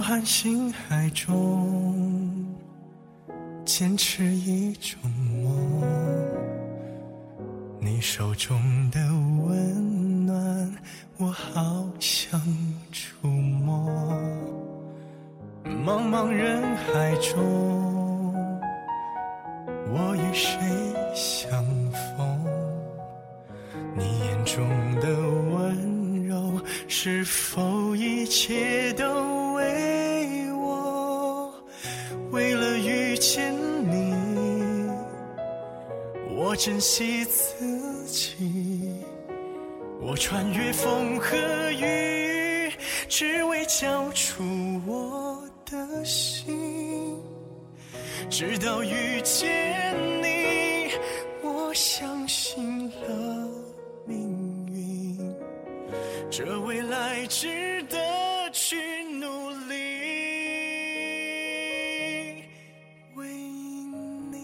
含星海中坚持一种梦，你手中的温暖我好想触摸。茫茫人海中，我与谁相逢？你眼中的温柔，是否一切都为我？为了遇见你，我珍惜自己，我穿越风和雨，只为交出我的心。直到遇见你，我相信了命运，这未来值得去努力。为你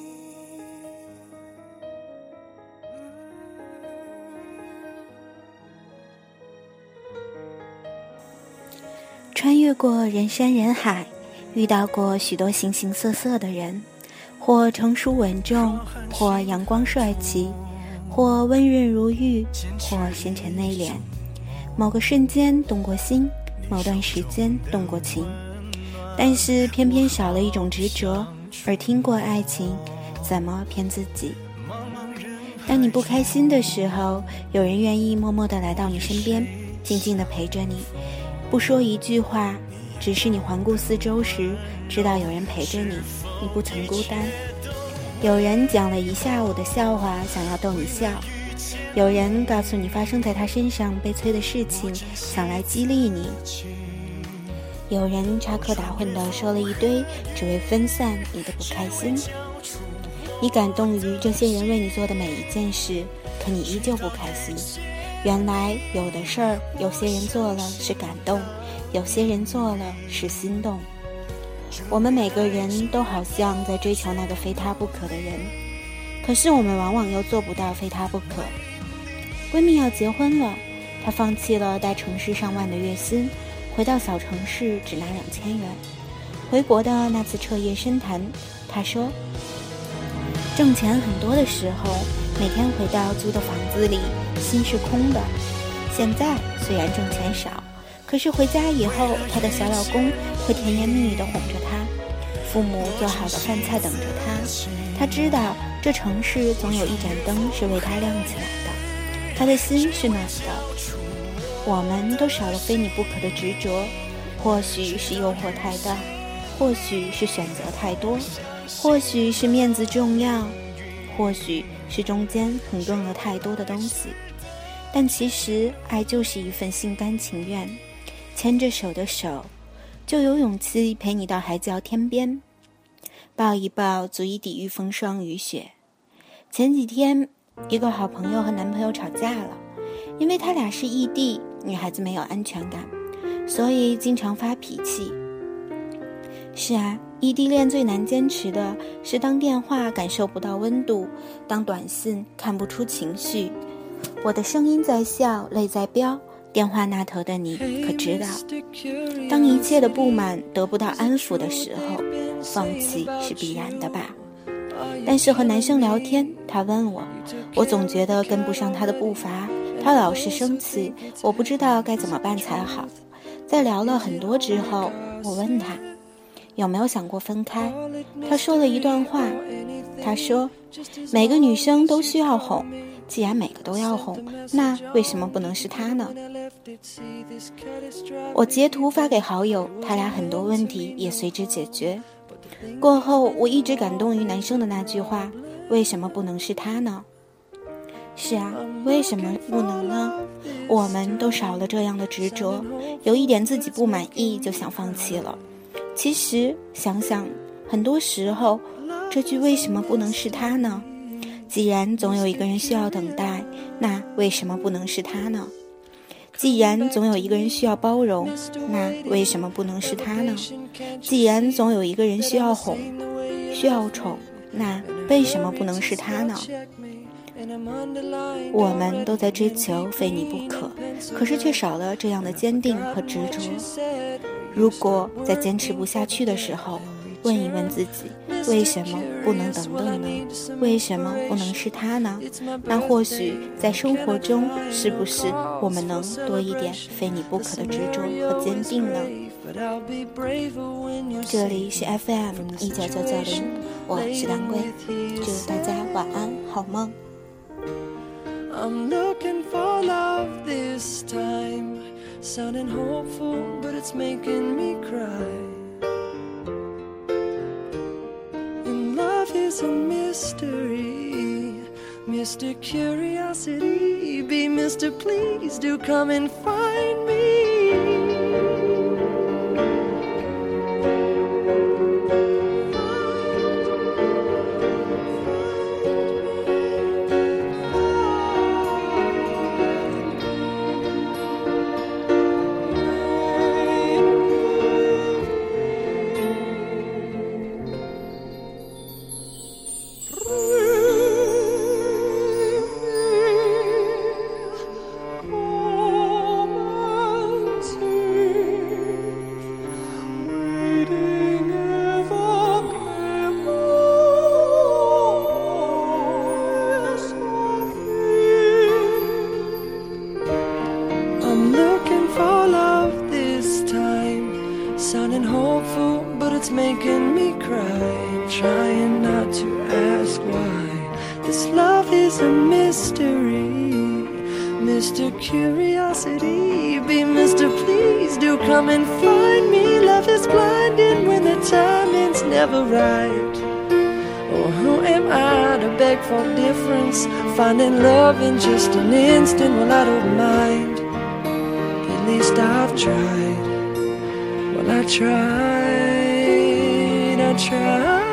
穿越过人山人海，遇到过许多形形色色的人，或成熟稳重，或阳光帅气，或温润如玉，或深沉内敛。某个瞬间动过心，某段时间动过情，但是偏偏少了一种执着。而听过爱情，怎么骗自己？当你不开心的时候，有人愿意默默地来到你身边，静静地陪着你，不说一句话，只是你环顾四周时，知道有人陪着你，你不曾孤单。有人讲了一下午的笑话，想要逗你笑；有人告诉你发生在他身上悲催的事情，想来激励你；有人插科打诨地说了一堆，只为分散你的不开心。你感动于这些人为你做的每一件事，可你依旧不开心。原来有的事儿，有些人做了是感动，有些人做了是心动。我们每个人都好像在追求那个非他不可的人，可是我们往往又做不到非他不可。闺蜜要结婚了，她放弃了大城市上万的月薪，回到小城市只拿2000元。回国的那次彻夜深谈，她说，挣钱很多的时候，每天回到租的房子里，心是空的。现在虽然挣钱少，可是回家以后，她的小老公会甜言蜜语地哄着她，父母做好的饭菜等着她。她知道这城市总有一盏灯是为她亮起来的，她的心是暖的。我们都少了非你不可的执着，或许是诱惑太大，或许是选择太多，或许是面子重要，或许是中间横亘了太多的东西。但其实爱就是一份心甘情愿，牵着手的手，就有勇气陪你到海角天边，抱一抱足以抵御风霜雨雪。前几天一个好朋友和男朋友吵架了，因为他俩是异地，女孩子没有安全感，所以经常发脾气。是啊，异地恋最难坚持的是当电话感受不到温度，当短信看不出情绪。我的声音在笑，泪在飙，电话那头的你可知道，当一切的不满得不到安抚的时候，放弃是必然的吧。但是和男生聊天，他问我，我总觉得跟不上他的步伐，他老是生气，我不知道该怎么办才好。在聊了很多之后，我问他有没有想过分开，他说了一段话，他说每个女生都需要哄，既然每个都要哄，那为什么不能是他呢？我截图发给好友，他俩很多问题也随之解决。过后我一直感动于男生的那句话，为什么不能是他呢？是啊，为什么不能呢？我们都少了这样的执着，有一点自己不满意就想放弃了。其实想想，很多时候这句为什么不能是他呢？既然总有一个人需要等待，那为什么不能是他呢？既然总有一个人需要包容，那为什么不能是他呢？既然总有一个人需要哄，需要宠，那为什么不能是他呢？我们都在追求非你不可，可是却少了这样的坚定和执着。 如果在坚持不下去的时候，问一问自己，为什么不能等等呢？为什么不能是他呢？那或许在生活中，是不是我们能多一点非你不可的执着和坚定呢？这里是 FM19990，我是当归，祝大家晚安，好梦。 I'm looking for love this time, sounding hopeful, but it's making me cry. And love is a mystery, Mr. Curiosity, be Mr. Please do come and find me. Sounding hopeful, but it's making me cry. Trying not to ask why. This love is a mystery. Mr. Curiosity, be Mr. Please do come and find me. Love is blinding when the timing's never right. Oh, who am I to beg for difference? Finding love in just an instant, well, I don't mind. At least I've tried. I tried.